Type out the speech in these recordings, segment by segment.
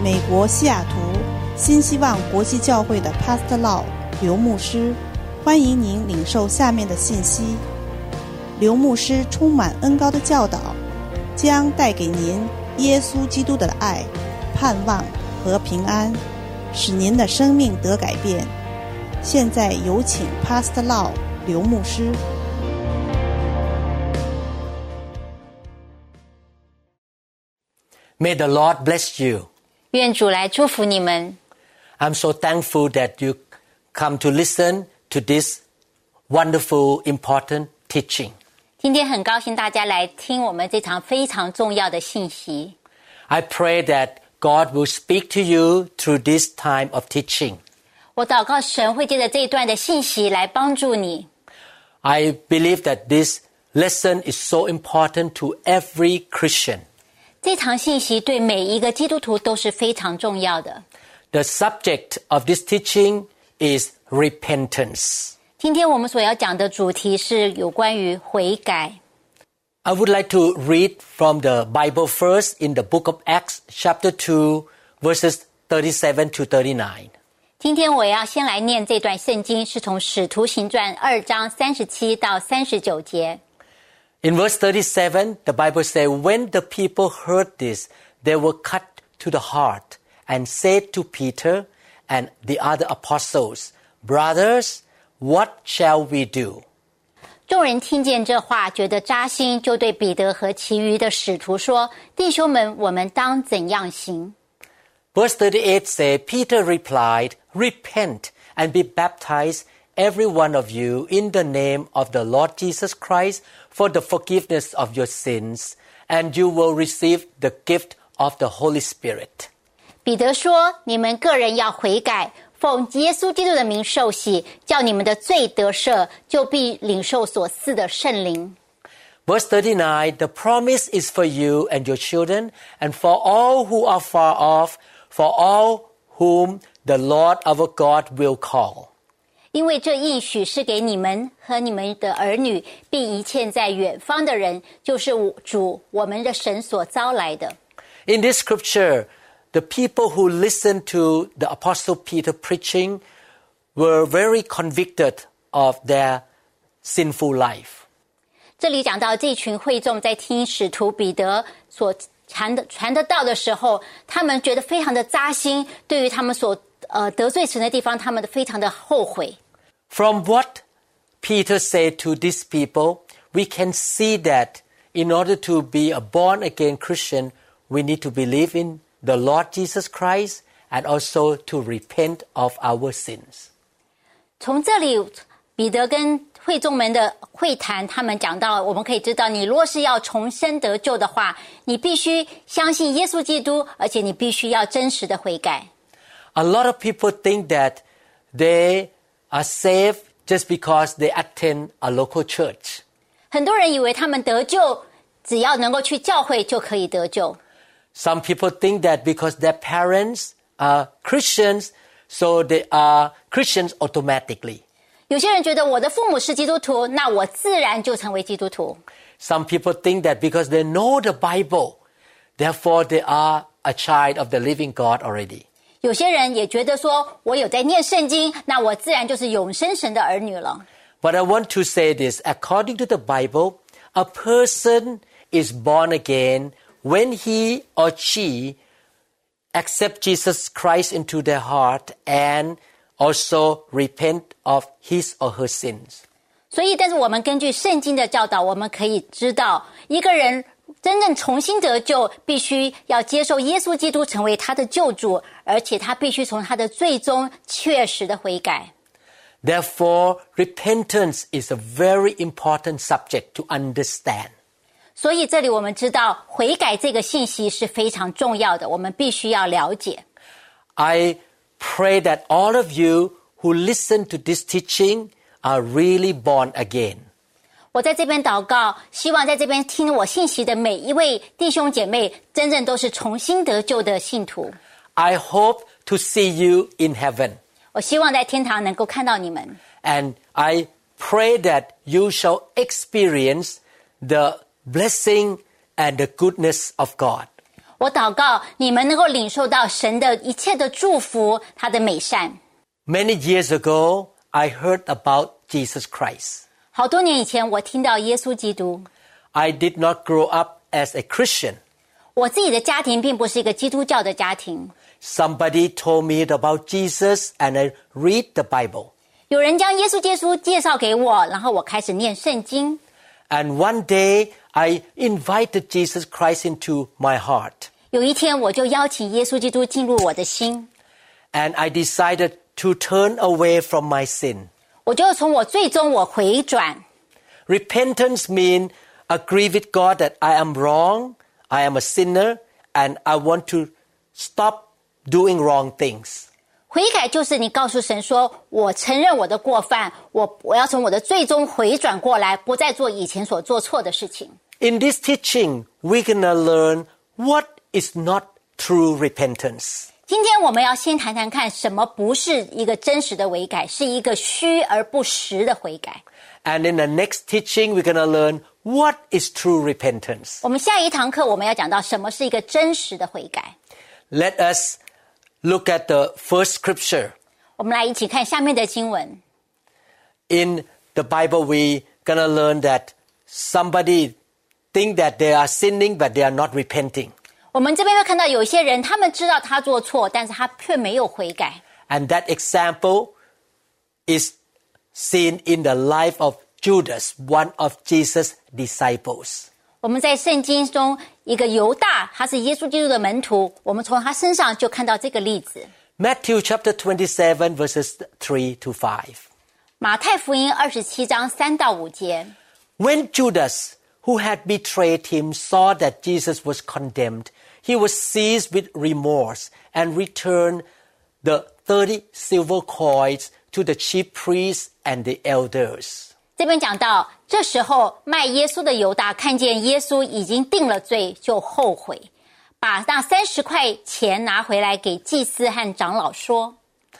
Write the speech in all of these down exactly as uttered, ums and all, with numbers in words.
美国西雅图新希望国际教会的 Pastor Lau 刘牧师，欢迎您领受下面的信息。刘牧师充满恩膏的教导，将带给您耶稣基督的爱、盼望和平安，使您的生命得改变。现在有请 Pastor Lau 刘牧师。 May the Lord bless you. 愿主来祝福你们。 I'm so thankful that you come to listen to this wonderful, important teaching. 今天很高兴大家来听我们这场非常重要的信息。 I pray that God will speak to you through this time of teaching. 我祷告神会借着这一段的信息来帮助你。 I believe that this lesson is so important to every Christian. 这场信息对每一个基督徒都是非常重要的。 The subject of this teaching is repentance. 今天我们所要讲的主题是有关于悔改。 I would like to read from the Bible first in the book of Acts, chapter two, verses thirty-seven to thirty-nine. 今天我要先来念这段圣经，是从使徒行传二章三十七到三十九节。 In verse thirty-seven, the Bible says, When the people heard this, they were cut to the heart and said to Peter and the other apostles, Brothers, what shall we do? 众人听见这话，觉得扎心，就对彼得和其余的使徒说：弟兄们，我们当怎样行？ Verse thirty-eight says, Peter replied, Repent and be baptized, every one of you, in the name of the Lord Jesus Christ, for the forgiveness of your sins, and you will receive the gift of the Holy Spirit. 彼得说：你们个人要悔改，奉耶稣基督的名受洗，叫你们的罪得赦，就必领受所赐的圣灵。 Verse thirty-nine, the promise is for you and your children, and for all who are far off, for all whom the Lord our God will call. 因为这应许是给你们和你们的儿女，并一切在远方的人，就是主我们的神所招来的。 In this scripture, the people who listened to the Apostle Peter preaching were very convicted of their sinful life. 这里讲到这群会众在听使徒彼得所传的传的道的时候，他们觉得非常的扎心，对于他们所呃得罪神的地方，他们非常的后悔。 From what Peter said to these people, we can see that in order to be a born-again Christian, we need to believe in the Lord Jesus Christ and also to repent of our sins. 从这里彼得跟会众们的会谈，他们讲到，我们可以知道，你若是要重生得救的话，你必须相信耶稣基督，而且你必须要真实的悔改。 A lot of people think that they are saved just because they attend a local church. 很多人以为他们得救，只要能够去教会就可以得救。 Some people think that because their parents are Christians, so they are Christians automatically. 有些人觉得我的父母是基督徒，那我自然就成为基督徒。 Some people think that because they know the Bible, therefore they are a child of the living God already. 有些人也觉得说，我有在念圣经，那我自然就是永生神的儿女了。 But I want to say this, according to the Bible, a person is born again when he or she accepts Jesus Christ into their heart and also repent of his or her sins. 所以，但是我们根据圣经的教导，我们可以知道，一个人真正重新得救，必须要接受耶稣基督成为他的救主，而且他必须从他的罪中确实的悔改。 Therefore, repentance is a very important subject to understand. 所以这里我们知道，悔改这个信息是非常重要的，我们必须要了解。 I pray that all of you who listen to this teaching are really born again. 我在这边祷告，希望在这边听我信息的每一位弟兄姐妹，真正都是重新得救的信徒。 I hope to see you in heaven. 我希望在天堂能够看到你们。 And I pray that you shall experience the blessing and the goodness of God. 我祷告你们能够领受到神的一切的祝福，他的美善。 Many years ago, I heard about Jesus Christ. 好多年以前，我听到耶稣基督。 I did not grow up as a Christian. 我自己的家庭并不是一个基督教的家庭。 Somebody told me about Jesus and I read the Bible. 有人将耶稣基督介绍给我，然后我开始念圣经。 And one day, I invited Jesus Christ into my heart. 有一天，我就邀请耶稣基督进入我的心。 And I decided to turn away from my sin. 我就从我最终我回转。 Repentance means agree with God that I am wrong, I am a sinner, and I want to stop doing wrong things. 悔改就是你告诉神说，我承认我的过犯，我我要从我的最终回转过来，不再做以前所做错的事情。 In this teaching, we're going to learn what is not true repentance. 今天我们要先谈谈看什么不是一个真实的悔改，是一个虚而不实的悔改。 And in the next teaching, we're going to learn what is true repentance. 我们下一堂课我们要讲到什么是一个真实的悔改。 Let us look at the first scripture. 我们来一起看下面的经文。 In the Bible, we're going to learn that somebody think that they are sinning, but they are not repenting. 我们这边会看到有一些人，他们知道他做错，但是他却没有悔改。 And that example is seen in the life of Judas, one of Jesus' disciples. 我们在圣经中，一个犹大，他是耶稣基督的门徒，我们从他身上就看到这个例子。 Matthew chapter twenty-seven, verses three to five. 马太福音二十七章三到五节。 When Judas, who had betrayed him, saw that Jesus was condemned, he was seized with remorse and returned the thirty silver coins to the chief priests and the elders. 这边讲到，这时候卖耶稣的犹大看见耶稣已经定了罪，就后悔，把那三十块钱拿回来给祭司和长老说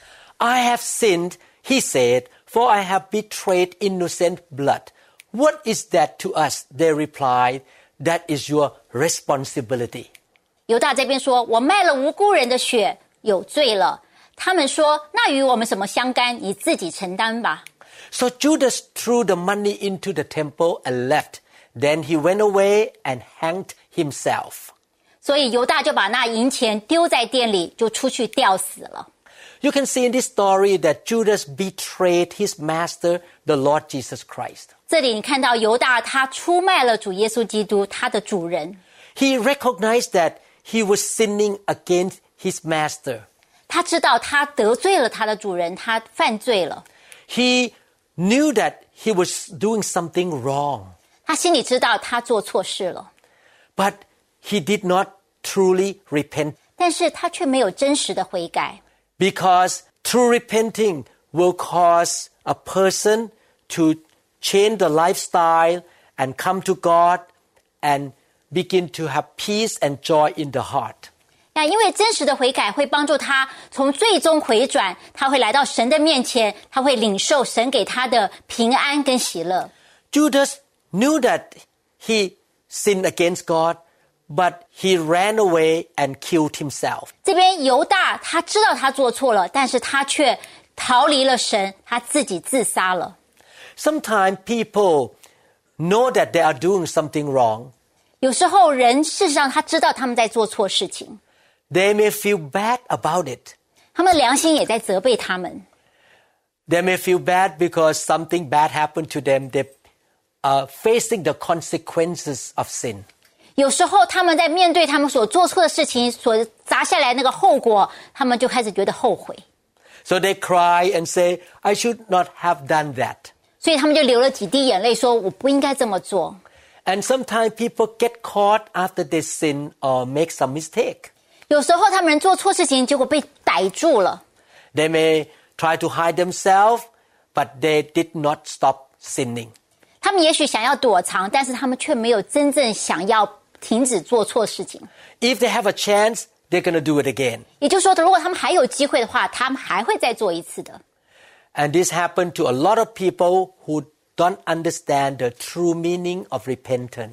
I have sinned, he said, for I have betrayed innocent blood. What is that to us? They replied, that is your responsibility. 犹大这边说，我卖了无辜人的血，有罪了。他们说，那与我们什么相干？你自己承担吧。 So Judas threw the money into the temple and left. Then he went away and hanged himself. 所以犹大就把那银钱丢在店里，就出去吊死了。 You can see in this story that Judas betrayed his master, the Lord Jesus Christ. 这里你看到犹大他出卖了主耶稣基督，他的主人。 He recognized that he was sinning against his master. 他知道他得罪了他的主人，他犯罪了。 He knew that he was doing something wrong. 他心里知道他做错事了， But he did not truly repent. 但是他却没有真实的悔改。 Because true repenting will cause a person to change the lifestyle and come to God and begin to have peace and joy in the heart. 那因为真实的悔改会帮助他从最终回转，他会来到神的面前，他会领受神给他的平安跟喜乐。 Judas knew that he sinned against God, but he ran away and killed himself. 这边犹大他知道他做错了，但是他却逃离了神，他自己自杀了。 Sometimes people know that they are doing something wrong. 有时候人事实上他知道他们在做错事情， They may feel bad about it. 他们的良心也在责备他们。 They may feel bad because something bad happened to them. They are facing the consequences of sin. 有时候他们在面对他们所做错的事情所砸下来那个后果，他们就开始觉得后悔， So they cry and say, I should not have done that. 所以他们就流了几滴眼泪说，我不应该这么做。 And sometimes people get caught after they sin or make some mistake. 有时候他们做错事情，结果被逮住了。 They may try to hide themselves, but they did not stop sinning. 他们也许想要躲藏，但是他们却没有真正想要停止做错事情。 If they have a chance, they're going to do it again. 也就是说，如果他们还有机会的话，他们还会再做一次的。 And this happened to a lot of people who don't understand the true meaning of repentance.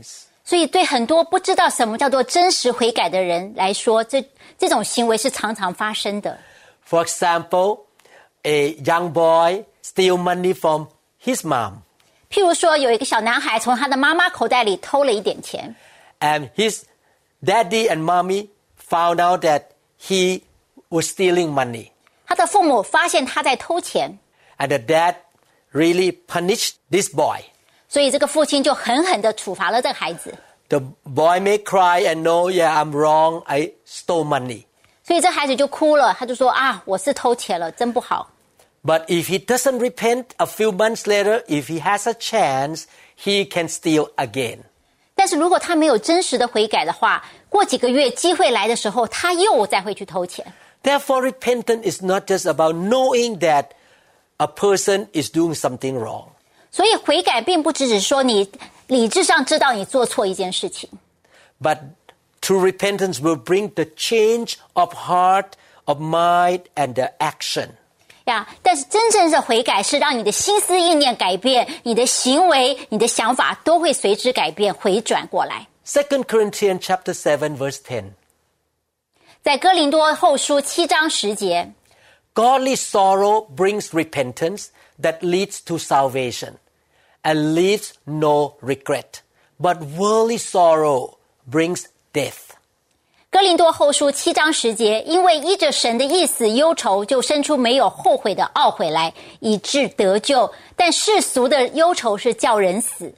所以对很多不知道什么叫做真实悔改的人来说，这这种行为是常常发生的。 For example, a young boy steal money from his mom. 譬如说，有一个小男孩从他的妈妈口袋里偷了一点钱， And his daddy and mommy found out that he was stealing money. 他的父母发现他在偷钱， And the dad really punished this boy. 所以这个父亲就狠狠地处罚了这个孩子。 The boy may cry and know, yeah, I'm wrong, I stole money. 所以这孩子就哭了，他就说啊，我是偷钱了，真不好。 But if he doesn't repent a few months later, if he has a chance, he can steal again. 但是如果他没有真实的悔改的话，过几个月机会来的时候，他又再会去偷钱。 Therefore, repentance is not just about knowing that a person is doing something wrong. 所以悔改并不只是说你理智上知道你做错一件事情， But true repentance will bring the change of heart, of mind, and the action. 呀，但是真正的悔改是让你的心思意念改变，你的行为、你的想法都会随之改变，回转过来。 Second Corinthians chapter seven, verse ten. 在哥林多后书七章十节， Godly sorrow brings repentance that leads to salvation and leaves no regret. But worldly sorrow brings death. 哥林多后书七章十节，因为依着神的意思，忧愁就生出没有后悔的懊悔来，以致得救。但世俗的忧愁是叫人死。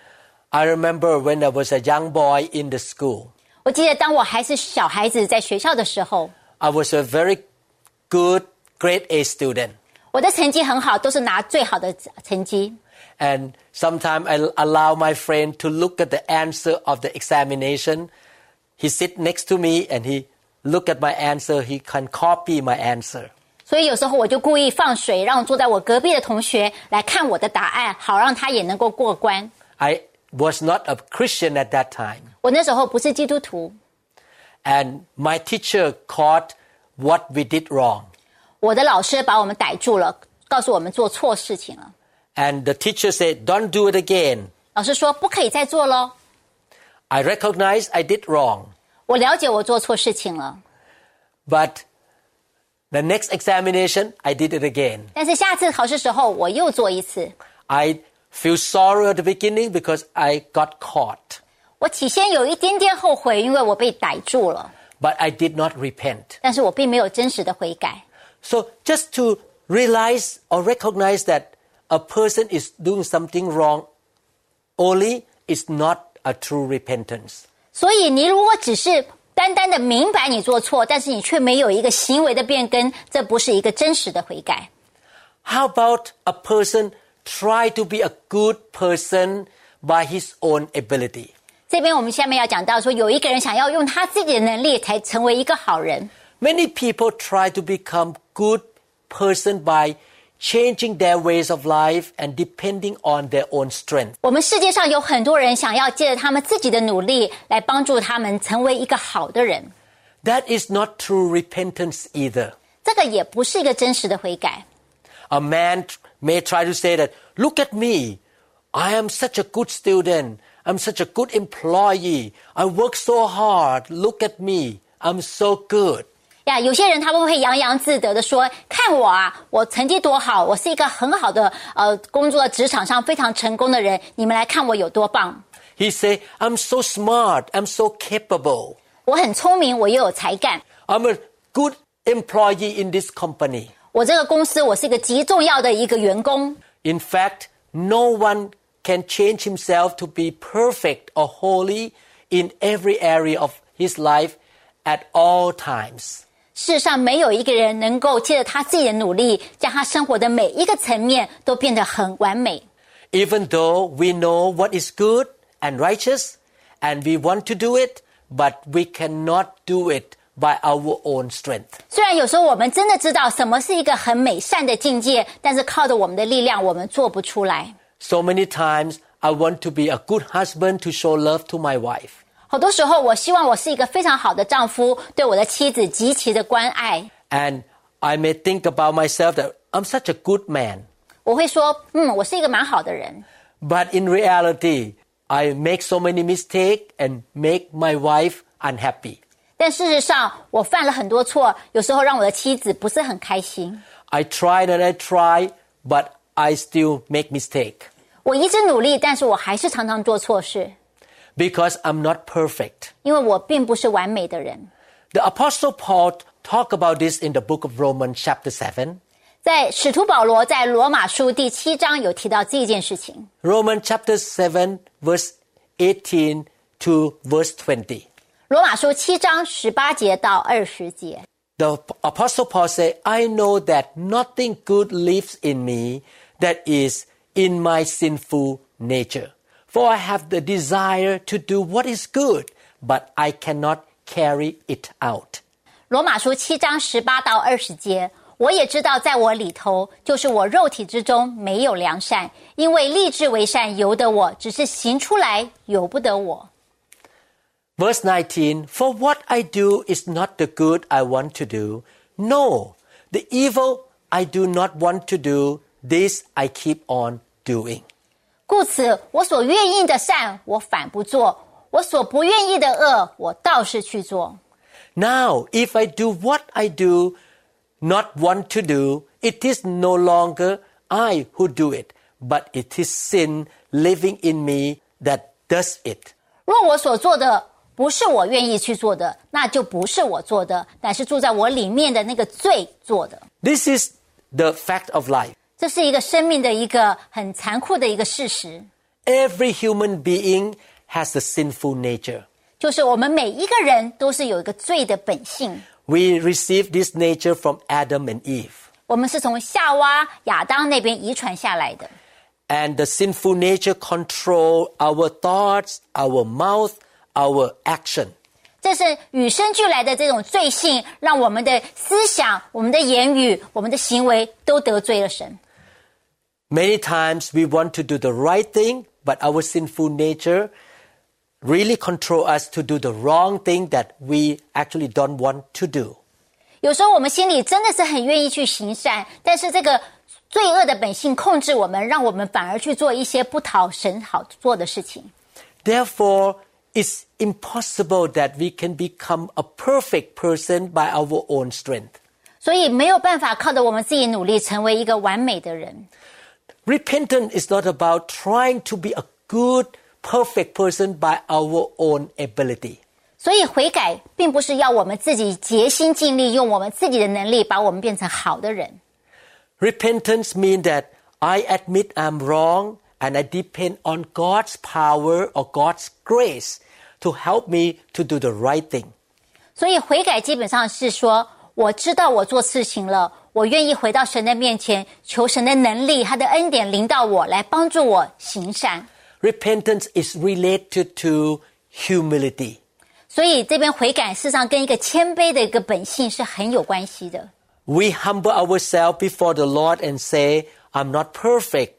I remember when I was a young boy in the school. 我记得当我还是小孩子在学校的时候， I was a very good grade A student. 我的成绩很好，都是拿最好的成绩。 And sometimes I allow my friend to look at the answer of the examination. He sit next to me and he look at my answer. He can copy my answer. 所以有时候我就故意放水，让坐在我隔壁的同学来看我的答案，好让他也能够过关。 I was not a Christian at that time. 我那时候不是基督徒， And my teacher caught what we did wrong. 我的老师把我们逮住了，告诉我们做错事情了。 And the teacher said, don't do it again. 老师说不可以再做咯。 I recognize I did wrong. 我了解我做错事情了， But the next examination, I did it again. 但是下次考试时候我又做一次。 I feel sorry at the beginning because I got caught. 我起先有一点点后悔，因为我被逮住了， But I did not repent. 但是我并没有真实的悔改。 So just to realize or recognize that a person is doing something wrong only is not a true repentance. 所以你如果只是单单的明白你做错，但是你却没有一个行为的变更，这不是一个真实的悔改。 How about a person try to be a good person by his own ability? 这边我们下面要讲到说，有一个人想要用他自己的能力才成为一个好人。 Many people try to become good person by changing their ways of life and depending on their own strength. 我们世界上有很多人想要借着他们自己的努力来帮助他们成为一个好的人， That is not true repentance either. 这个也不是一个真实的悔改。 A man may try to say that, look at me, I am such a good student, I'm such a good employee, I work so hard, look at me, I'm so good. 呀，有些人他们会洋洋自得的说：“看我啊，我成绩多好，我是一个很好的呃，工作职场上非常成功的人。你们来看我有多棒！ He say, I'm so smart, I'm so capable, 我很聪明，我又有才干。 I'm a good employee in this company. 我这个公司，我是一个极重要的一个员工。 In fact, no one can change himself to be perfect or holy in every area of his life at all times. 世上没有一个人能够借着他自己的努力，将他生活的每一个层面都变得很完美。 Even though we know what is good and righteous and we want to do it, but we cannot do it by our own strength. 虽然有时候我们真的知道什么是一个很美善的境界，但是靠着我们的力量，我们做不出来。 So many times I want to be a good husband to show love to my wife. 好多时候，我希望我是一个非常好的丈夫，对我的妻子极其的关爱。 And I may think about myself that I'm such a good man. 我会说，嗯，我是一个蛮好的人。 But in reality, I make so many mistakes and make my wife unhappy. 但事实上，我犯了很多错，有时候让我的妻子不是很开心。 I tried and I tried, but I still make mistake. 我一直努力，但是我还是常常做错事， Because I'm not perfect. 因为我并不是完美的人。 The Apostle Paul talked about this in the book of Romans chapter seven. 在使徒保罗在罗马书第七章有提到这一件事情。 Romans chapter seven, verse eighteen to verse twenty. 罗马书七章十八节到二十节。 The Apostle Paul said, I know that nothing good lives in me, that is, in my sinful nature. For I have the desire to do what is good, but I cannot carry it out. 罗马书七章十八到二十节，我也知道在我里头，就是我肉体之中没有良善，因为立志为善由得我，只是行出来由不得我。 Verse nineteen, For what I do is not the good I want to do. No, the evil I do not want to do, this I keep on doing. 故此，我所愿意的善，我反不做；我所不愿意的恶，我倒是去做。 Now, if I do what I do not want to do, it is no longer I who do it, but it is sin living in me that does it. 若我所做的不是我愿意去做的，那就不是我做的，乃是住在我里面的那个罪做的。 This is the fact of life. 这是一个生命的一个很残酷的一个事实。 Every human being has a sinful nature. 就是我们每一个人都是有一个罪的本性。 We receive this nature from Adam and Eve. 我们是从夏娃、亚当那边遗传下来的。 And the sinful nature control our thoughts, our mouth, our action. 这是与生俱来的这种罪性，让我们的思想、我们的言语、我们的行为都得罪了神。 Many times we want to do the right thing, but our sinful nature really control us to do the wrong thing that we actually don't want to do. 有时候我们心里真的是很愿意去行善，但是这个罪恶的本性控制我们，让我们反而去做一些不讨神好做的事情。 Therefore, it's impossible that we can become a perfect person by our own strength. 所以没有办法靠着我们自己努力成为一个完美的人。 Repentance is not about trying to be a good, perfect person by our own ability. 所以悔改并不是要我们自己竭心尽力，用我们自己的能力把我们变成好的人。 Repentance means that I admit I'm wrong and I depend on God's power or God's grace to help me to do the right thing. 所以悔改基本上是说，我知道我做事情了，我愿意回到神的面前，求神的能力，他的恩典临到我，来帮助我行善。 Repentance is related to humility. 所以这边悔改事实上跟一个谦卑的一个本性是很有关系的。 We humble ourselves before the Lord and say, I'm not perfect.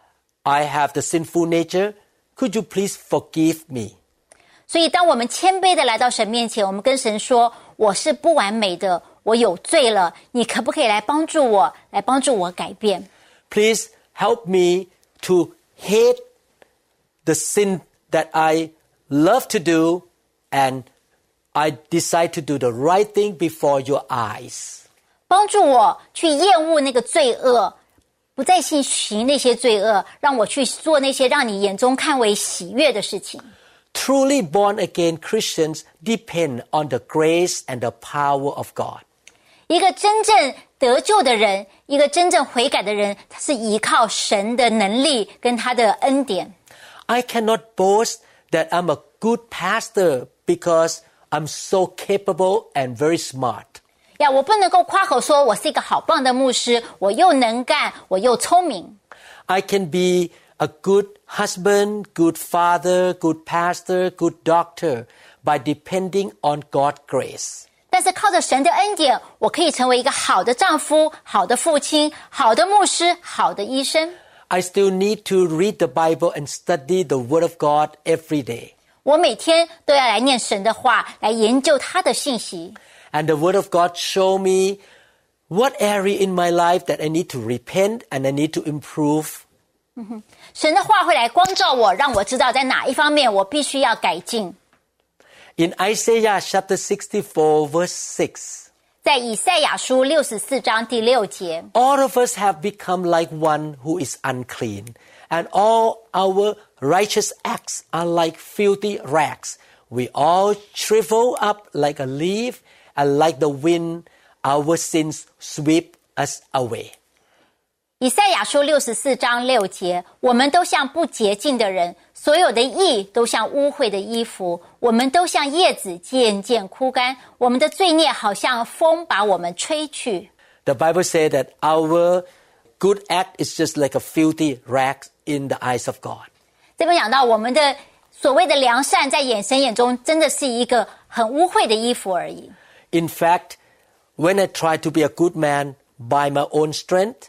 I have the sinful nature. Could you please forgive me? 所以当我们谦卑的来到神面前，我们跟神说，我是不完美的，我有罪了，你可不可以来帮助我，来帮助我改变？ Please help me to hate the sin that I love to do and I decide to do the right thing before your eyes. 帮助我去厌恶那个罪恶，不再去行那些罪恶，让我去做那些让你眼中看为喜悦的事情。 Truly born-again Christians depend on the grace and the power of God. 一个真正得救的人，一个真正悔改的人，他是依靠神的能力跟他的恩典。 I cannot boast that I'm a good pastor because I'm so capable and very smart. 呀，我不能够夸口说我是一个好棒的牧师，我又能干，我又聪明。 I can be a good husband, good father, good pastor, good doctor by depending on God's grace. 但是靠着神的恩典，我可以成为一个好的丈夫、好的父亲、好的牧师、好的医生。 I still need to read the Bible and study the Word of God every day. 我每天都要来念神的话，来研究他的信息。 And the Word of God show me what area in my life that I need to repent and I need to improve 神的话会来光照我，让我知道在哪一方面我必须要改进。 In Isaiah chapter sixty-four, verse six, 在以赛亚书六十四章第六节， all of us have become like one who is unclean, and all our righteous acts are like filthy rags. We all shrivel up like a leaf, and like the wind, our sins sweep us away. 以赛亚书六十四章六节，我们都像不洁净的人，所有的义都像污秽的衣服，我们都像叶子渐渐枯干，我们的罪孽好像风把我们吹去。 The Bible says that our good act is just like a filthy rag in the eyes of God. 这边讲到我们的所谓的良善，在眼神眼中真的是一个很污秽的衣服而已。 In fact, when I try to be a good man by my own strength,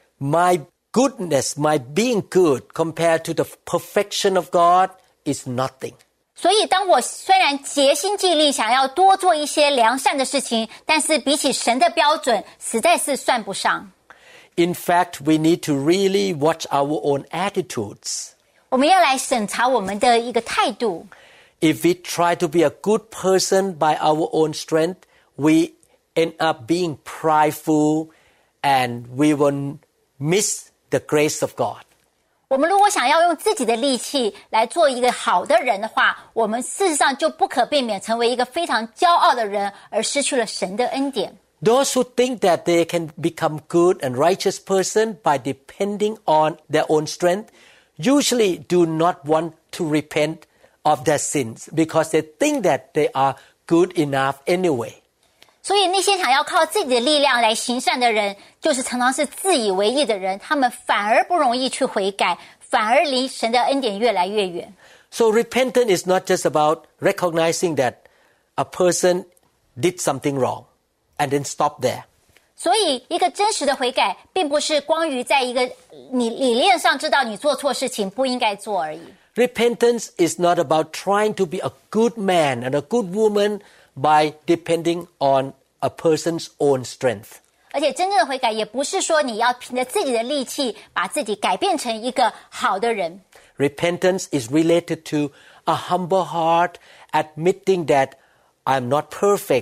my goodness, my being good compared to the perfection of God is nothing. 所以当我虽然竭心尽力想要多做一些良善的事情，但是比起神的标准实在是算不上。 In fact, we need to really watch our own attitudes. 我们要来审查我们的一个态度。 If we try to be a good person by our own strength, we end up being prideful and we will miss the grace of God. 我们如果想要用自己的力气来做一个好的人的话，我们事实上就不可避免成为一个非常骄傲的人，而失去了神的恩典。 Those who think that they can become good and righteous person by depending on their own strength usually do not want to repent of their sins because they think that they are good enough anyway. 所以那些想要靠自己的力量来行善的人，就是常常是自以为义的人，他们反而不容易去悔改，反而离神的恩典越来越远。 So repentance is not just about recognizing that a person did something wrong and then stop there. 所以一个真实的悔改并不是光于在一个你理念上知道你做错事情不应该做而已。 Repentance is not about trying to be a good man and a good woman by depending on a person's own strength. 而且真正的悔改也不是说你要凭着自己的力气把自己改变成一个好的人。 Repentance is related to a humble heart, admitting that I'm not perfect,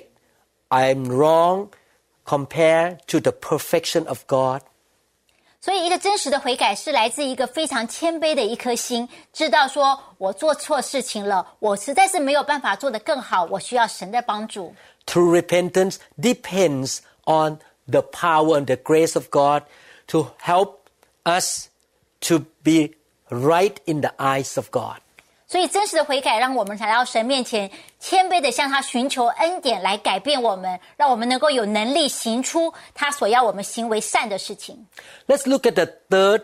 I'm wrong compared to the perfection of God. 所以一个真实的悔改是来自一个非常谦卑的一颗心，知道说我做错事情了，我实在是没有办法做得更好，我需要神的帮助。 True repentance depends on the power and the grace of God to help us to be right in the eyes of God. 所以真实的悔改让我们来到神面前，谦卑的向他寻求恩典来改变我们，让我们能够有能力行出他所要我们行为善的事情。 Let's look at the third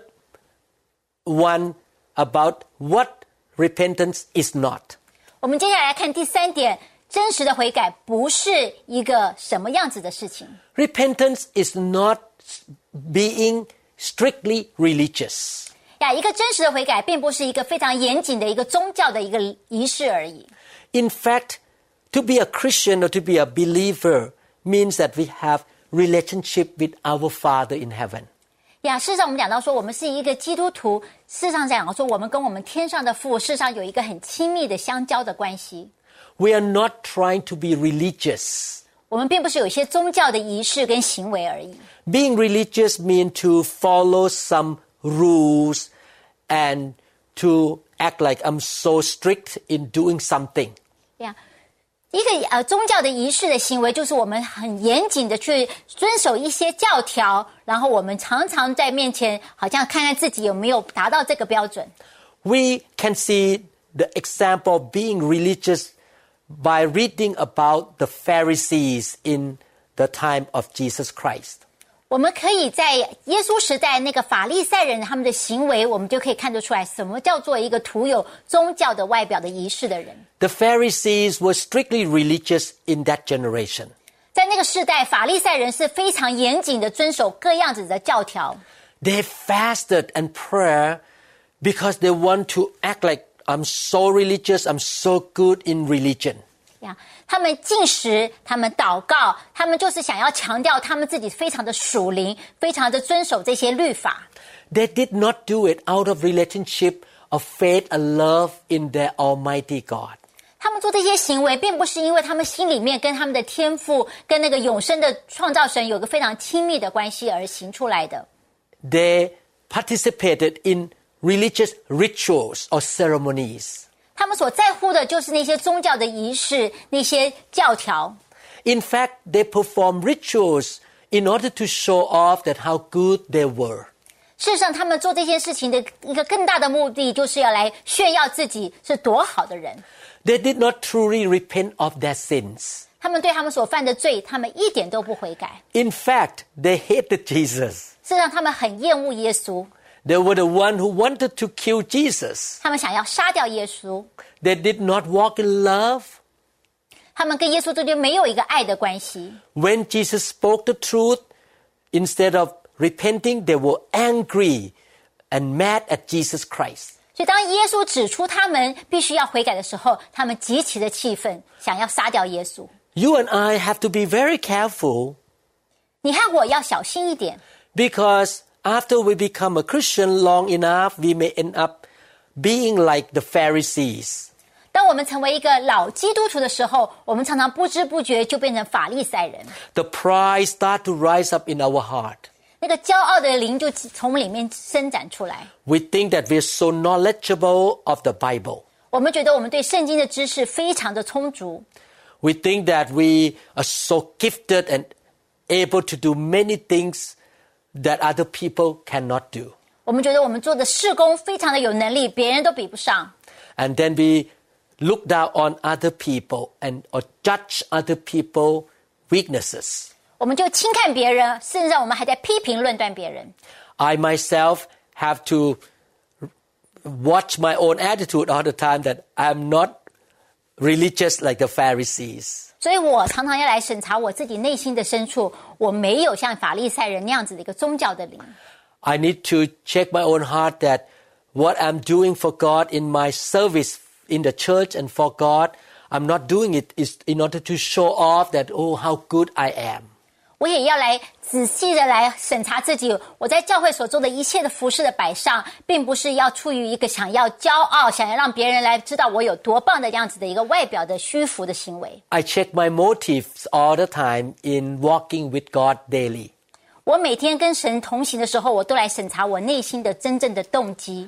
one about what repentance is not. 我们接下来来看第三点，真实的悔改不是一个什么样子的事情。 Repentance is not being strictly religious. 呀，一个真实的悔改并不是一个非常严谨的一个宗教的一个仪式而已。 In fact, to be a Christian or to be a believer means that we have relationship with our Father in heaven. 呀，事实上我们讲到说，我们是一个基督徒，事实上讲到说，我们跟我们天上的父，事实上有一个很亲密的相交的关系。 We are not trying to be religious. 我们并不是有一些宗教的仪式跟行为而已。 Being religious means to follow some rules and to act like I'm so strict in doing something. 呀，一个呃宗教的仪式的行为，就是我们很严谨的去遵守一些教条，然后我们常常在面前好像看看自己有没有达到这个标准。 We can see the example of being religious by reading about the Pharisees in the time of Jesus Christ. 我们可以在耶稣时代那个法利赛人他们的行为，我们就可以看得出来什么叫做一个徒有宗教的外表的仪式的人。 The Pharisees were strictly religious in that generation. 在那个世代，法利赛人是非常严谨的遵守各样子的教条。 They fasted and prayer because they want to act like I'm so religious, I'm so good in religion. 呀，他们进食，他们祷告，他们就是想要强调他们自己非常的属灵，非常的遵守这些律法。 They did not do it out of relationship of faith and love in their Almighty God. 他们做这些行为，并不是因为他们心里面跟他们的天父、跟那个永生的创造神有个非常亲密的关系而行出来的。 They participated in religious rituals or ceremonies. 他们所在乎的就是那些宗教的仪式，那些教条。 In fact, they performed rituals in order to show off that how good they were. 事实上，他们做这件事情的一个更大的目的，就是要来炫耀自己是多好的人。 They did not truly repent of their sins. 他们对他们所犯的罪，他们一点都不悔改。 In fact, they hated Jesus. 事实上，他们很厌恶耶稣。 They were the one who wanted to kill Jesus. 他们想要杀掉耶稣。 They did not walk in love. 他们跟耶稣之间没有一个爱的关系。 When Jesus spoke the truth, instead of repenting, they were angry and mad at Jesus Christ. 所以当耶稣指出他们必须要悔改的时候，他们极其的气愤，想要杀掉耶稣。 You and I have to be very careful. 你和我要小心一点。 Because after we become a Christian long enough, we may end up being like the Pharisees. 当我们成为一个老基督徒的时候，我们常常不知不觉就变成法利赛人。 The pride start to rise up in our heart. 那个骄傲的灵就从里面伸展出来。 We think that we're so knowledgeable of the Bible. 我们觉得我们对圣经的知识非常的充足。 We think that we are so gifted and able to do many things that other people cannot do. 我们觉得我们做的事工非常的有能力，别人都比不上。 And then we look down on other people and or judge other people's weaknesses. 我们就轻看别人，甚至我们还在批评论断别人。 I myself have to watch my own attitude all the time that I'm not religious like the Pharisees. 所以我常常要来审查我自己内心的深处，我没有像法利赛人那样子的一个宗教的灵。 I need to check my own heart that what I'm doing for God in my service in the church and for God, I'm not doing it is in order to show off that, oh, how good I am. 我也要来仔细的来审查自己，我在教会所做的一切的服事的摆上，并不是要出于一个想要骄傲，想要让别人来知道我有多棒的样子的一个外表的虚浮的行为。 I check my motives all the time in walking with God daily. 我每天跟神同行的时候，我都来审查我内心的真正的动机。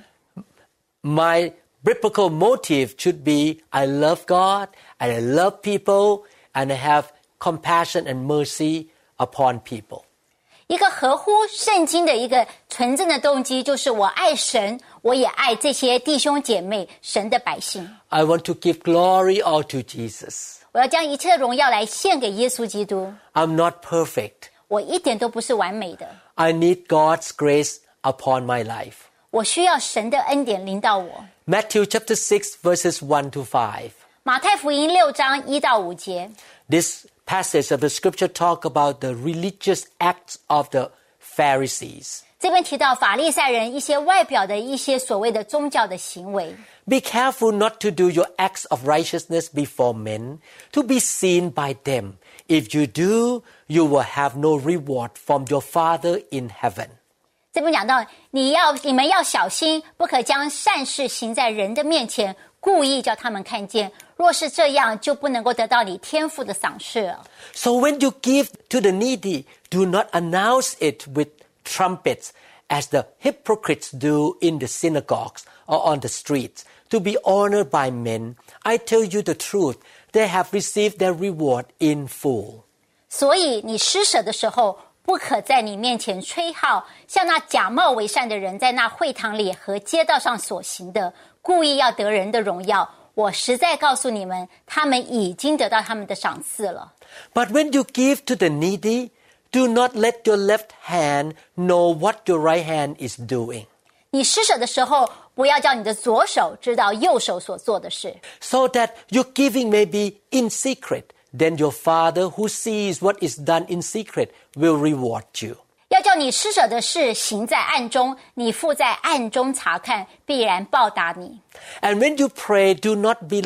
My biblical motive should be I love God and I love people and I have compassion and mercy upon people. 一个合乎圣经的一个纯正的动机，就是我爱神，我也爱这些弟兄姐妹，神的百姓。 I want to give glory all to Jesus. 我要将一切的荣耀来献给耶稣基督。 I'm not perfect. 我一点都不是完美的。 I need God's grace upon my life. 我需要神的恩典临到我。 Matthew chapter six verses one to five. 马太福音六章一到五节。 This passage of the scripture talk about the religious acts of the Pharisees. 这边提到法利赛人一些外表的一些所谓的宗教的行为。 Be careful not to do your acts of righteousness before men, to be seen by them. If you do, you will have no reward from your Father in heaven. 这边讲到，你要你们要小心，不可将善事行在人的面前，故意叫他们看见。若是这样，就不能够得到你天父的赏识了。 So when you give to the needy, do not announce it with trumpets, as the hypocrites do in the synagogues or on the streets, to be honored by men. I tell you the truth, they have received their reward in full. 所以你施舍的时候，不可在你面前吹号，像那假冒为善的人在那会堂里和街道上所行的，故意要得人的荣耀。我实在告诉你们，他们已经得到他们的赏赐了。 But when you give to the needy, do not let your left hand know what your right hand is doing. 你施舍的时候，不要叫你的左手知道右手所做的事。 So that your giving may be in secret, then your Father who sees what is done in secret will reward you. 要叫你施舍的事行在暗中，你父在暗中查看，必然报答你。 And when you pray, do not be like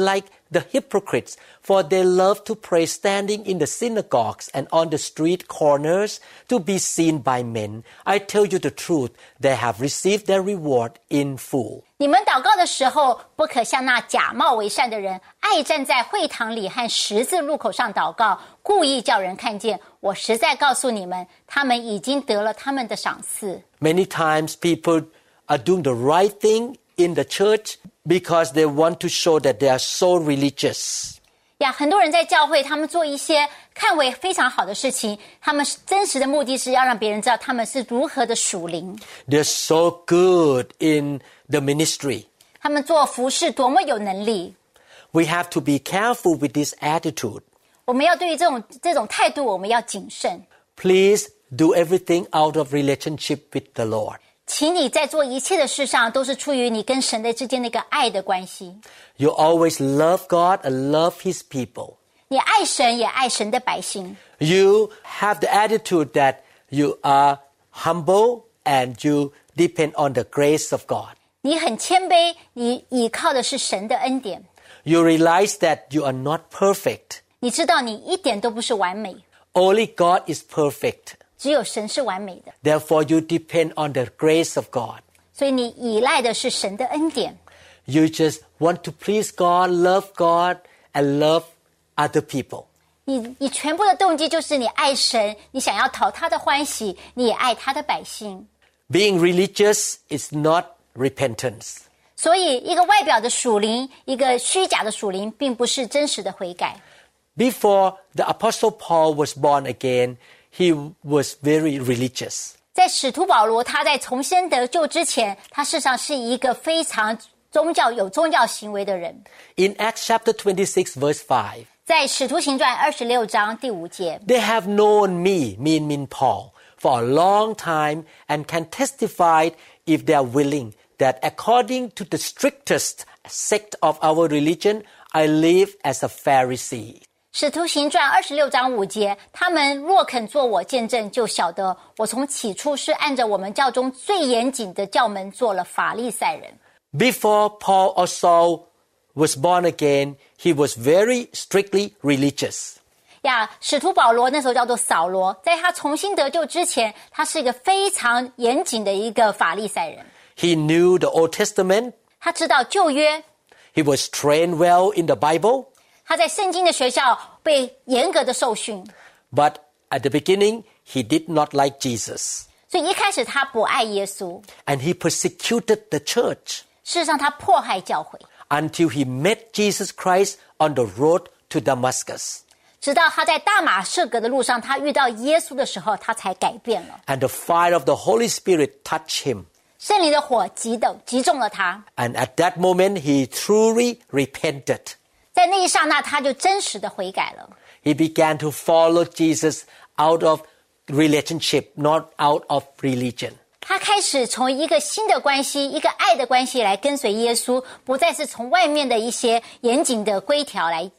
the hypocrites, for they love to pray standing in the synagogues and on the street corners to be seen by men. I tell you the truth, they have received their reward in full. 你们祷告的时候，不可像那假冒为善的人，爱站在会堂里和十字路口上祷告，故意叫人看见。我实在告诉你们，他们已经得了他们的赏赐。 Many times people are doing the right thing in the church because they want to show that they are so religious. 呀，很多人在教会，他们做一些看为非常好的事情，他们真实的目的是要让别人知道他们是如何的属灵。 They're so good in the ministry. 他们做服事多么有能力。 We have to be careful with this attitude. 我们要对于这种这种态度，我们要谨慎。 Please do everything out of relationship with the Lord. 请你在做一切的事上，都是出于你跟神的之间的一个爱的关系。 You always love God and love His people. 你爱神，也爱神的百姓。 You have the attitude that you are humble and you depend on the grace of God. 你很谦卑，你倚靠的是神的恩典。 You realize that you are not perfect. 你知道你一点都不是完美， Only God is perfect. 只有神是完美的。 Therefore, you depend on the grace of God. 所以你依赖的是神的恩典。 You just want to please God, love God, and love other people. 你你全部的动机就是你爱神，你想要讨他的欢喜，你也爱他的百姓。 Being religious is not repentance. 所以，一个外表的属灵，一个虚假的属灵，并不是真实的悔改。 Before the Apostle Paul was born again, he was very religious. 在使徒保罗他在重生得救之前，他事实上是一个非常宗教有宗教行为的人。 In Acts chapter twenty-six, verse five, 在使徒行传二十六章第五节， they have known me, me mean Paul, for a long time and can testify if they are willing that according to the strictest sect of our religion, I live as a Pharisee. 使徒行传二十六章五节，他们若肯做我见证，就晓得我从起初是按着我们教中最严谨的教门做了法利赛人。 Before Paul or Saul was born again, he was very strictly religious. 呀，使徒保罗那时候叫做扫罗，在他重新得救之前，他是一个非常严谨的一个法利赛人。 He knew the Old Testament. 他知道旧约， He was trained well in the Bible. 他在圣经的学校被严格的受训， But at the beginning, he did not like Jesus. 所以一开始他不爱耶稣， And he persecuted the church 事实上他迫害教会， until he met Jesus Christ on the road to Damascus. 直到他在大马士革的路上，他遇到耶稣的时候，他才改变了。 And the fire of the Holy Spirit touched him. 圣灵的火击动击中了他， And at that moment, he truly repented. 在那一刹那，他就真实的悔改了。 He began to follow Jesus out of relationship, not out of religion. 他开始从一个新的关系，一个爱的关系来跟随耶稣，不再是从外面的一些严谨的规条来。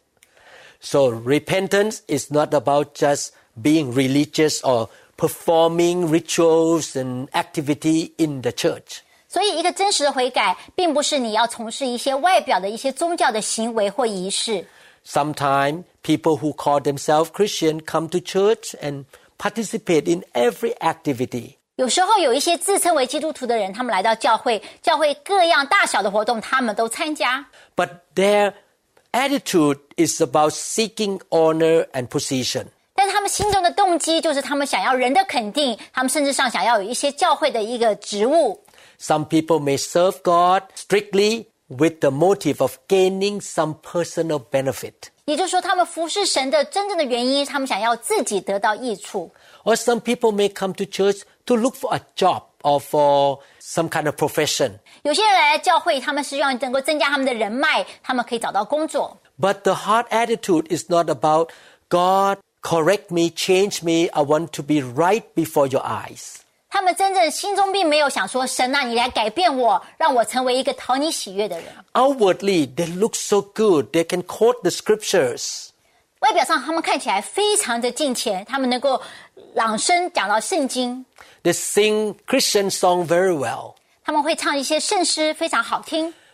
So repentance is not about just being religious or performing rituals and activity in the church. 所以，一个真实的悔改，并不是你要从事一些外表的一些宗教的行为或仪式。 Sometimes people who call themselves Christian come to church and participate in every activity. 有时候有一些自称为基督徒的人，他们来到教会，教会各样大小的活动，他们都参加。 But their attitude is about seeking honor and position. 但是他们心中的动机就是他们想要人的肯定，他们甚至上想要有一些教会的一个职务。 Some people may serve God strictly with the motive of gaining some personal benefit. 也就是说，他们服侍神的真正的原因，他们想要自己得到益处。 Or some people may come to church to look for a job or for some kind of profession. 有些人来教会，他们是希望能够增加他们的人脉，他们可以找到工作。 But the heart attitude is not about God, correct me, change me, I want to be right before your eyes. 他们真正心中并没有想说，神啊，你来改变我，让我成为一个讨你喜悦的人。 Outwardly, they look so good. They can quote the scriptures. 外表上他们看起来非常的敬虔，他们能够朗声讲到圣经， They sing Christian song very well. 他们会唱一些圣诗，非常好听。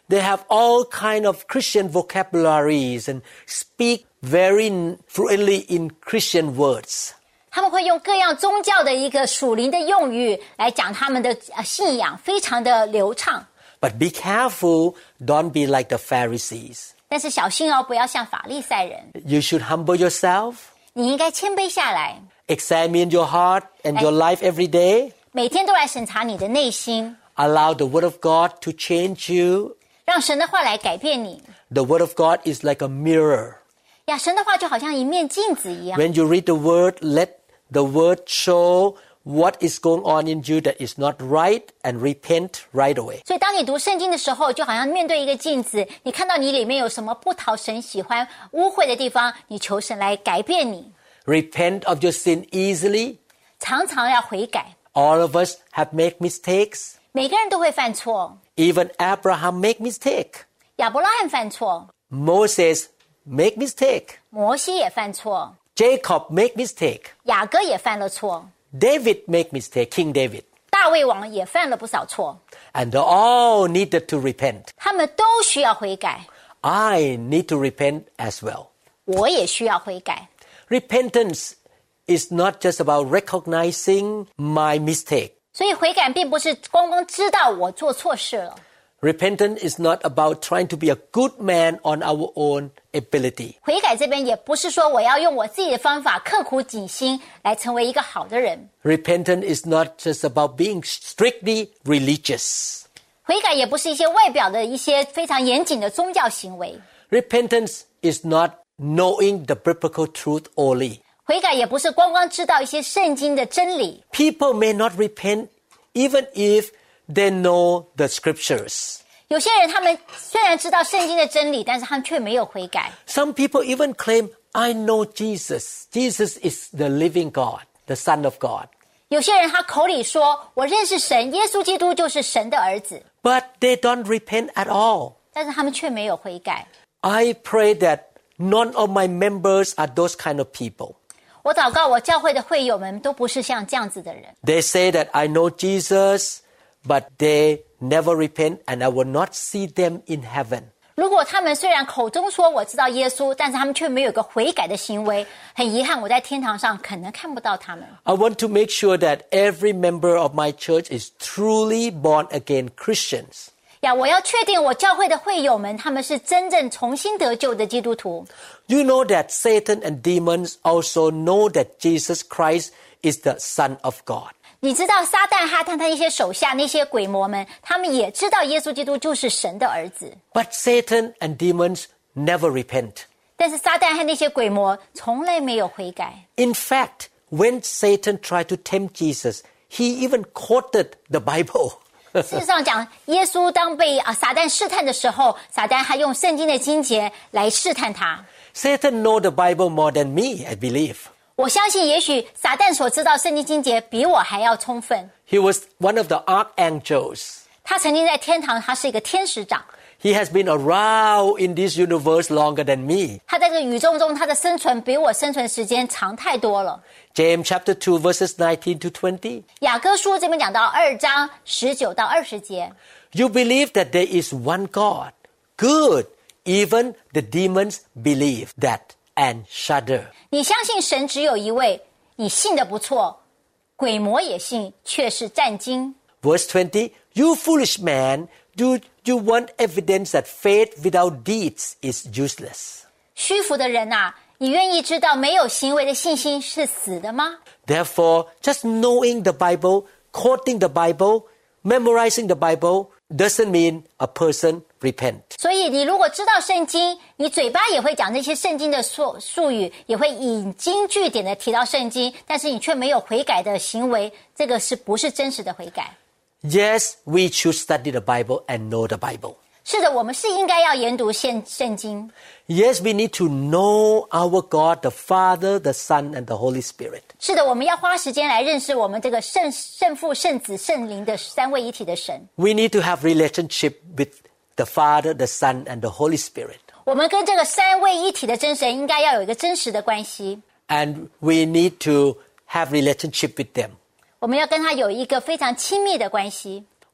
they have all kind of Christian vocabularies and speak very fluently in Christian words. 他们会用各样宗教的一个属灵的用语来讲他们的信仰，非常的流畅。 But be careful, don't be like the Pharisees. 但是小心哦，不要像法利赛人。 You should humble yourself. 你应该谦卑下来。 Examine your heart and your life every day. 每天都来审查你的内心。 Allow the Word of God to change you. 让神的话来改变你。 The Word of God is like a mirror. 呀，神的话就好像一面镜子一样。 When you read the Word, let the Word show what is going on in you that is not right and repent right away. 所以当你读圣经的时候，就好像面对一个镜子，你看到你里面有什么不讨神喜欢、污秽的地方，你求神来改变你。 Repent of your sin easily. 常常要悔改。 All of us have made mistakes. 每个人都会犯错。 Even Abraham make mistake. 亚伯拉罕犯错。 Moses make mistake. 摩西也犯错。 Jacob make mistake. 雅各也犯了错。 David make mistake, King David. 大卫王也犯了不少错。 And they all needed to repent. 他们都需要悔改。 I need to repent as well. 我也需要悔改。 Repentance is not just about recognizing my mistake. 所以悔改并不是光光知道我做错事了。 Repentance is not about trying to be a good man on our own ability. 悔改这边也不是说我要用我自己的方法刻苦己心来成为一个好的人。 Repentance is not just about being strictly religious. 悔改也不是一些外表的一些非常严谨的宗教行为。 Repentance is not knowing the biblical truth only. 悔改也不是光光知道一些圣经的真理。 People may not repent even if they know the scriptures. 有些人他们虽然知道圣经的真理，但是他们却没有悔改。 Some people even claim, I know Jesus. Jesus is the living God, the Son of God. 有些人他口里说我认识神，耶稣基督就是神的儿子， But they don't repent at all. 但是他们却没有悔改。 I pray that none of my members are those kind of people. 我祷告我教会的会友们都不是像这样子的人。 They say that I know Jesus, but they never repent and I will not see them in heaven. 如果他们虽然口中说我知道耶稣，但是他们却没有一个悔改的行为，很遗憾我在天堂上可能看不到他们。 I want to make sure that every member of my church is truly born again Christians. 呀，我要确定我教会的会友们他们是真正重新得救的基督徒。 You know that Satan and demons also know that Jesus Christ is the Son of God. 你知道撒旦和他那些手下那些鬼魔们，他们也知道耶稣基督就是神的儿子。 But Satan and demons never repent. 但是撒旦和那些鬼魔从来没有悔改。 In fact, when Satan tried to tempt Jesus, he even quoted the Bible. 事实上讲，耶稣当被啊撒旦试探的时候，撒旦还用圣经的经节来试探他。 Satan know the Bible more than me, I believe. 我相信也许撒旦所知道圣经经节比我还要充分。 He was one of the archangels. 他曾经在天堂，他是一个天使长。 He has been around in this universe longer than me. 他在这个宇宙中，他的生存比我生存时间长太多了。 James chapter two verses nineteen to twenty. 雅各书这边讲到二章十九到二十节。 You believe that there is one God. Good. Even the demons believe that and shudder. 你相信神只有一位，你信得不错，鬼魔也信，却是战惊。 Verse twenty. You foolish man, do you want evidence that faith without deeds is useless? 虚浮的人啊，你愿意知道没有行为的信心是死的吗？ Therefore, just knowing the Bible, quoting the Bible, memorizing the Bible doesn't mean a person repent. 所以你如果知道圣经，你嘴巴也会讲这些圣经的术术语，也会引经据典的提到圣经，但是你却没有悔改的行为，这个是不是真实的悔改？ Yes, we should study the Bible and know the Bible. 是的，我们是应该要研读圣圣经。 Yes, we need to know our God, the Father, the Son, and the Holy Spirit. 是的，我们要花时间来认识我们这个圣圣父、圣子、圣灵的三位一体的神。 We need to have relationship with the Father, the Son, and the Holy Spirit. 我们跟这个三位一体的真神应该要有一个真实的关系。 And we need to have relationship with them. 我们要跟他有一个非常亲密的关系。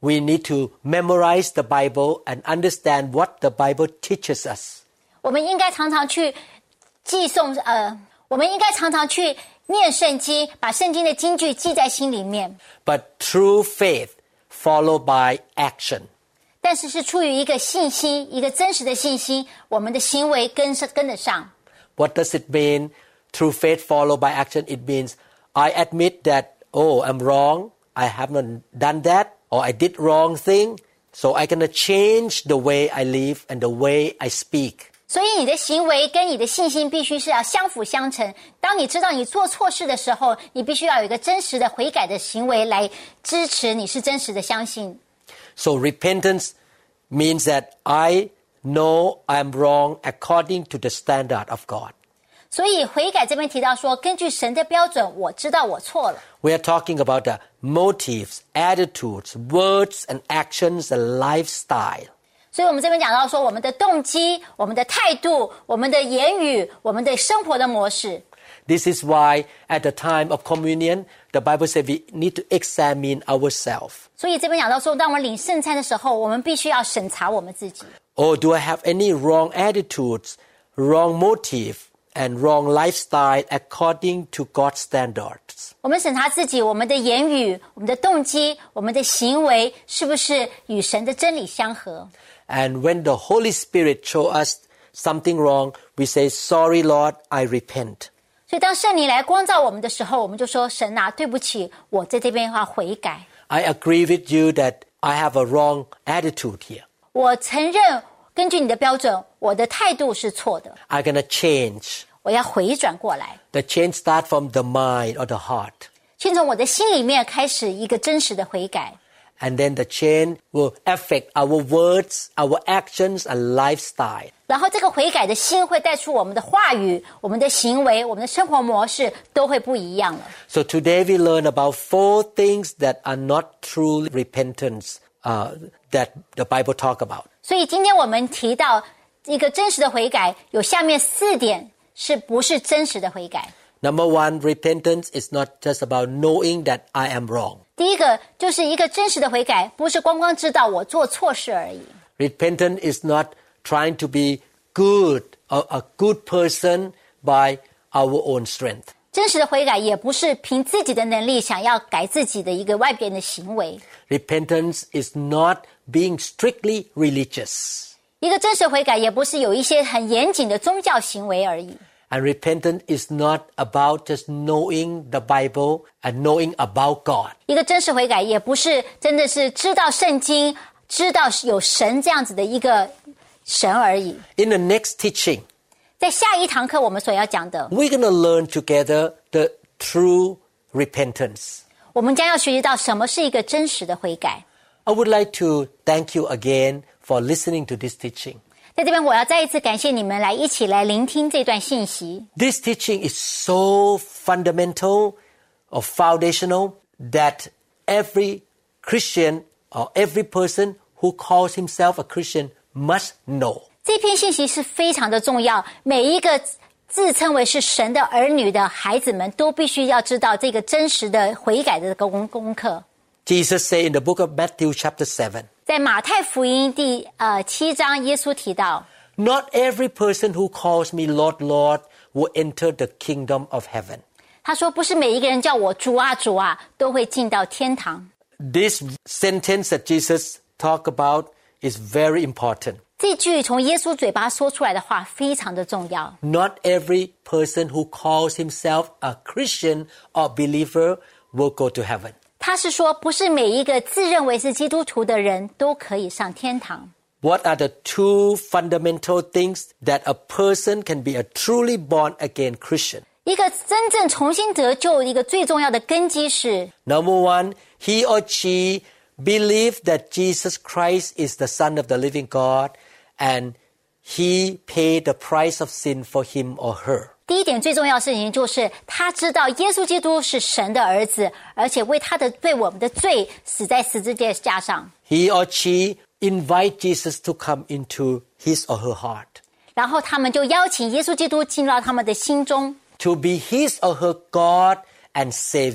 we need to memorize the Bible and understand what the Bible teaches us. 我们应该常常去记诵，呃，我们应该常常去念圣经，把圣经的金句记在心里面。 But true faith followed by action. 但是是出于一个信心，一个真实的信心，我们的行为跟上跟得上。 What does it mean? True faith followed by action. It means I admit that, oh, I'm wrong. I haven't done that, or I did wrong thing. So I'm gonna change the way I live and the way I speak. 所以你的行为跟你的信心必须是要相辅相成。当你知道你做错事的时候，你必须要有一个真实的悔改的行为来支持你是真实的相信。 So repentance means that I know I'm wrong according to the standard of God. 所以悔改这边提到说，根据神的标准，我知道我错了。 We are talking about the motives, attitudes, words and actions and lifestyle. 所以我们这边讲到说，我们的动机、我们的态度、我们的言语、我们的生活的模式。 This is why at the time of communion, the Bible says we need to examine ourselves. 所以这边讲到说，当我们领圣餐的时候，我们必须要审查我们自己。 Or do I have any wrong attitudes, wrong motive, and wrong lifestyle according to God's standards? 我们审查自己，我们的言语、我们的动机、我们的行为，是不是与神的真理相合？ And when the Holy Spirit show us something wrong, we say, sorry, Lord, I repent. 所以当圣灵来光照我们的时候，我们就说，神啊，对不起，我在这边要悔改。 I agree with you that I have a wrong attitude here. 我承认，根据你的标准，我的态度是错的。 I'm going to change. 我要回转过来。 The change starts from the mind or the heart. 先从我的心里面开始一个真实的悔改。 And then the change will affect our words, our actions, and lifestyle. 然后这个悔改的心会带出我们的话语、我们的行为、我们的生活模式都会不一样了。 So today we learn about four things that are not true repentance uh, that the Bible talk about. 所以今天我们提到一个真实的悔改，有下面四点是不是真实的悔改。 Number one, repentance is not just about knowing that I am wrong. 第一个就是一个真实的悔改，不是光光知道我做错事而已。 Repentance is not trying to be good, a, a good person by our own strength. 真实的悔改也不是凭自己的能力想要改自己的一个外边的行为。 Repentance is not being strictly religious. 一个真实的悔改也不是有一些很严谨的宗教行为而已。 And repentance is not about just knowing the Bible and knowing about God. 一个真实悔改也不是真的是知道圣经、知道有神这样子的一个神而已。 In the next teaching, 在下一堂课我们所要讲的， we're going to learn together the true repentance. 我们将要学习到什么是一个真实的悔改。 I would like to thank you again for listening to this teaching. 在这边我要再一次感谢你们来一起来聆听这段信息。 This teaching is so fundamental or foundational that every Christian or every person who calls himself a Christian must know. 这篇信息是非常的重要，每一个自称为是神的儿女的孩子们都必须要知道这个真实的悔改的功功课。 Jesus said in the book of Matthew chapter seven, 在马太福音第呃七章，耶稣提到， Not every person who calls me Lord, Lord will enter the kingdom of heaven. 他说不是每一个人叫我主啊主啊都会进到天堂。 This sentence that Jesus talked about is very important. 这句从耶稣嘴巴说出来的话非常的重要。 Not every person who calls himself a Christian or believer will go to heaven. 他是说不是每一个自认为是基督徒的人都可以上天堂。 What are the two fundamental things that a person can be a truly born again Christian? 一个真正重新得救一个最重要的根基是， Number one, he or she believe that Jesus Christ is the Son of the living God and he paid the price of sin for him or her. 第一点最重要的事情就是他知道耶稣基督是神的儿子，而且为他的对我们的罪死在十字架上。 He or she invite Jesus to come into his or her heart, 然后他们就邀请耶稣基督进入到他们的心中， to be his or her God and Savior.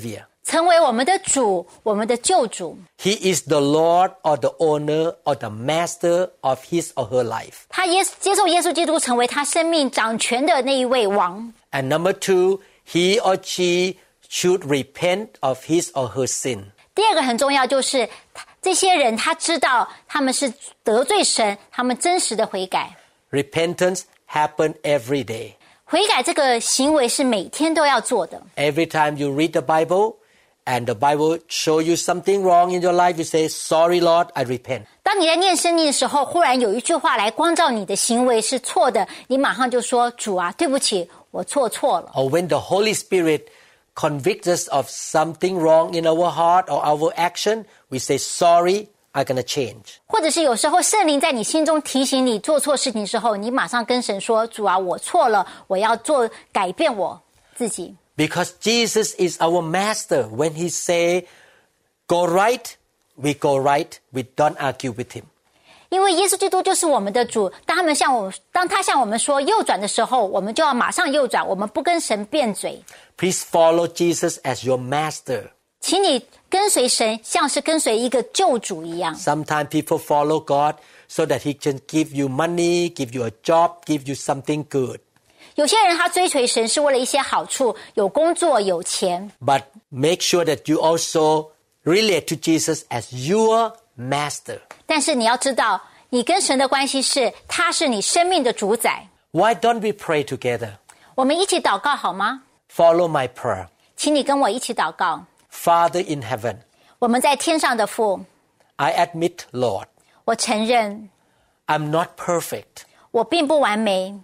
成为我们的主，我们的救主。 He is the Lord or the owner or the master of his or her life. 他耶接受耶稣基督成为他生命掌权的那一位王。 And number two, he or she should repent of his or her sin. 第二个很重要，就是这些人他知道他们是得罪神，他们真实的悔改。 Repentance happens every day. 悔改这个行为是每天都要做的。 Every time you read the Bible and the Bible show you something wrong in your life, you say, sorry Lord, I repent. 当你在念圣经的时候，忽然有一句话来光照你的行为是错的，你马上就说，主啊，对不起，我错错了。 Or when the Holy Spirit convicts us of something wrong in our heart or our action, we say, sorry, I'm going to change. 或者是有时候圣灵在你心中提醒你做错事情的时候，你马上跟神说，主啊，我错了，我要做改变我自己。 Because Jesus is our master. When he say, go right, we go right. We don't argue with him. 因为耶稣基督就是我们的主，当他们向我，当他向我们说右转的时候，我们就要马上右转，我们不跟神辩嘴。 Please follow Jesus as your master. 请你跟随神，像是跟随一个救主一样。 Sometimes people follow God so that he can give you money, give you a job, give you something good. 有些人他追随神是为了一些好处，有工作，有钱。 But make sure that you also relate to Jesus as your master. 但是你要知道，你跟神的关系是，他是你生命的主宰。 Why don't we pray together? 我们一起祷告好吗？ Follow my prayer. 请你跟我一起祷告。 Father in heaven, 我们在天上的父， I admit, Lord, 我承认 I'm not perfect. 我并不完美，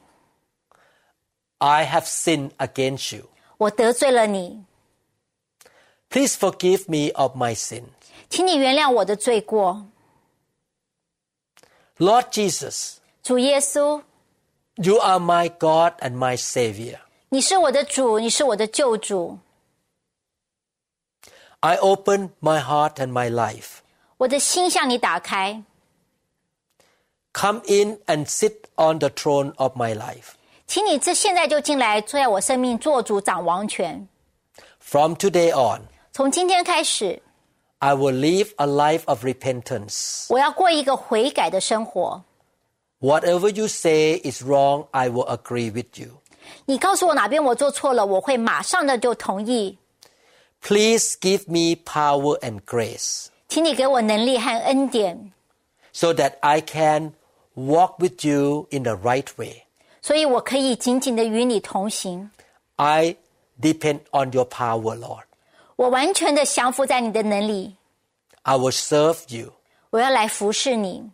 I have sinned against you. 我得罪了你， Please forgive me of my sin. 请你原谅我的罪过。 Lord Jesus, 主耶稣， you are my God and my Savior. 你是我的主，你是我的救主。 I open my heart and my life. 我的心向你打开， Come in and sit on the throne of my life. 请你这现在就进来，坐在我生命做主掌王权。 From today on, 从今天开始， I will live a life of repentance. 我要过一个悔改的生活。 Whatever you say is wrong, I will agree with you. 你告诉我哪边我做错了，我会马上的就同意。 Please give me power and grace 请你给我能力和恩典， so that I can walk with you in the right way. 所以我可以紧紧的与你同行。 I depend on your power, Lord. 我完全的降服在你的能力， I will serve you 我要来服侍你，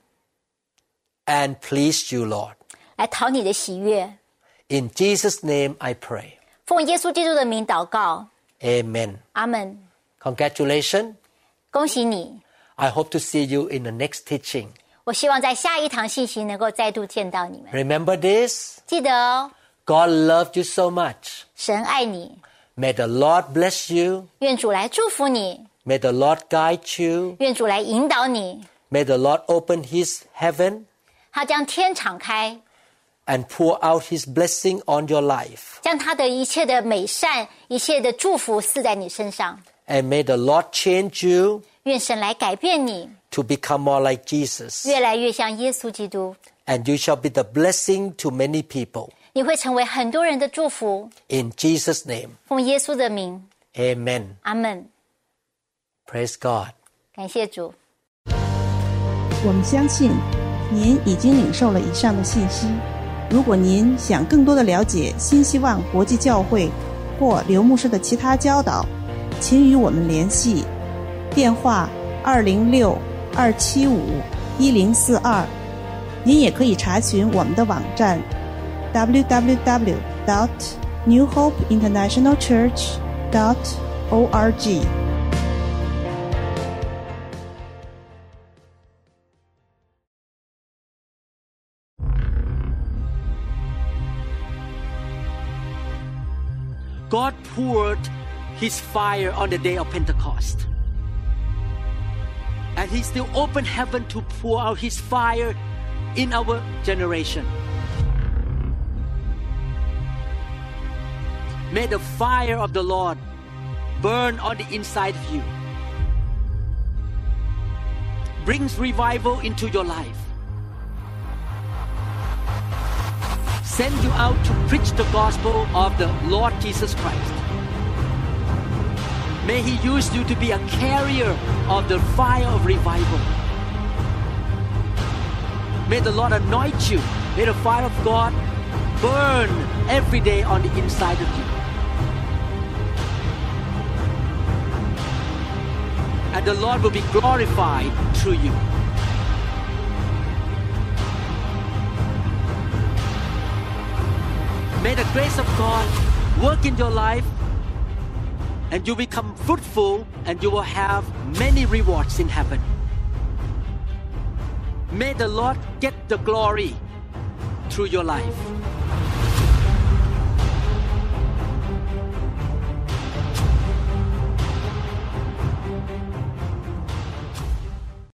and please you, Lord. 来讨你的喜悦。 In Jesus' name I pray. 奉耶稣基督的名祷告， Amen. 阿门。 Congratulations. 恭喜你！ I hope to see you in the next teaching. 我希望在下一堂信息能够再度见到你们。 Remember this? 记得哦， God loved you so much. 神爱你， May the Lord bless you. 愿主来祝福你， May the Lord guide you. 愿主来引导你。 May the Lord open his heaven 他将天敞开， and pour out his blessing on your life. 将他的一切的美善、一切的祝福赐在你身上。 And may the Lord change you 愿神来改变你， to become more like Jesus. 越来越像耶稣基督。 And you shall be the blessing to many people. 你会成为很多人的祝福。 In Jesus' name, 奉耶稣的名， amen. 阿门。 Praise God. 感谢主。 我们相信您已经领受了以上的信息。如果您想更多的了解新希望国际教会或刘牧师的其他教导，请与我们联系，电话二零六二七五一零四二。您也可以查询我们的网站 double-u double-u double-u dot new hope international church dot org。 God poured his fire on the day of Pentecost. And he still opened heaven to pour out his fire in our generation. May the fire of the Lord burn on the inside of you. Brings revival into your life. Send you out to preach the gospel of the Lord Jesus Christ. May He use you to be a carrier of the fire of revival. May the Lord anoint you. May the fire of God burn every day on the inside of you. And the Lord will be glorified through you. May the grace of God work in your life, and you become fruitful, and you will have many rewards in heaven. May the Lord get the glory through your life.